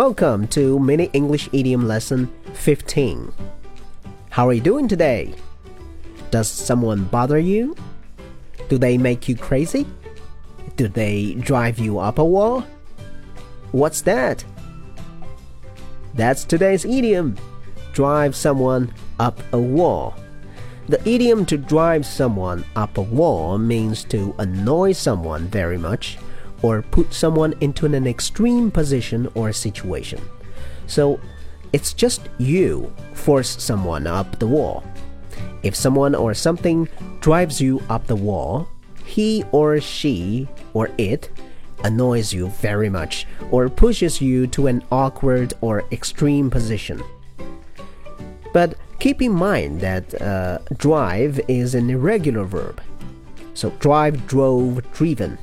Welcome to Mini English Idiom Lesson 15. How are you doing today? Does someone bother you? Do they make you crazy? Do they drive you up a wall? What's that? That's today's idiom. Drive someone up a wall. The idiom to drive someone up a wall means to annoy someone very much or put someone into an extreme position or situation. So, it's just you force someone up the wall. If someone or something drives you up the wall, he or she or it annoys you very much or pushes you to an awkward or extreme position. But keep in mind that drive is an irregular verb. So drive, drove, driven.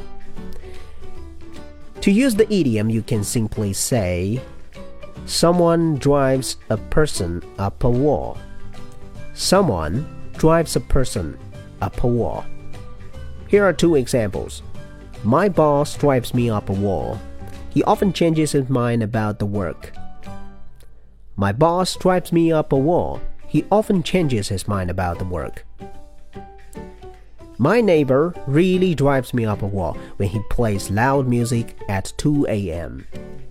To use the idiom, you can simply say, someone drives a person up a wall. Someone drives a person up a wall. Here are two examples. My boss drives me up a wall. He often changes his mind about the work. My boss drives me up a wall. He often changes his mind about the work. My neighbor really drives me up a wall when he plays loud music at 2 a.m.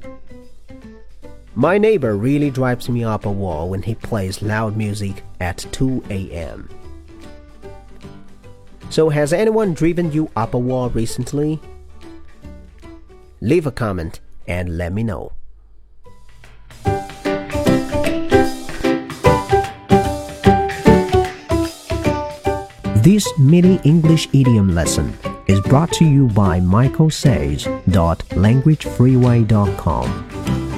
My neighbor really drives me up a wall when he plays loud music at 2 a.m. So has anyone driven you up a wall recently? Leave a comment and let me know. This mini English idiom lesson is brought to you by michaelsays.languagefreeway.com.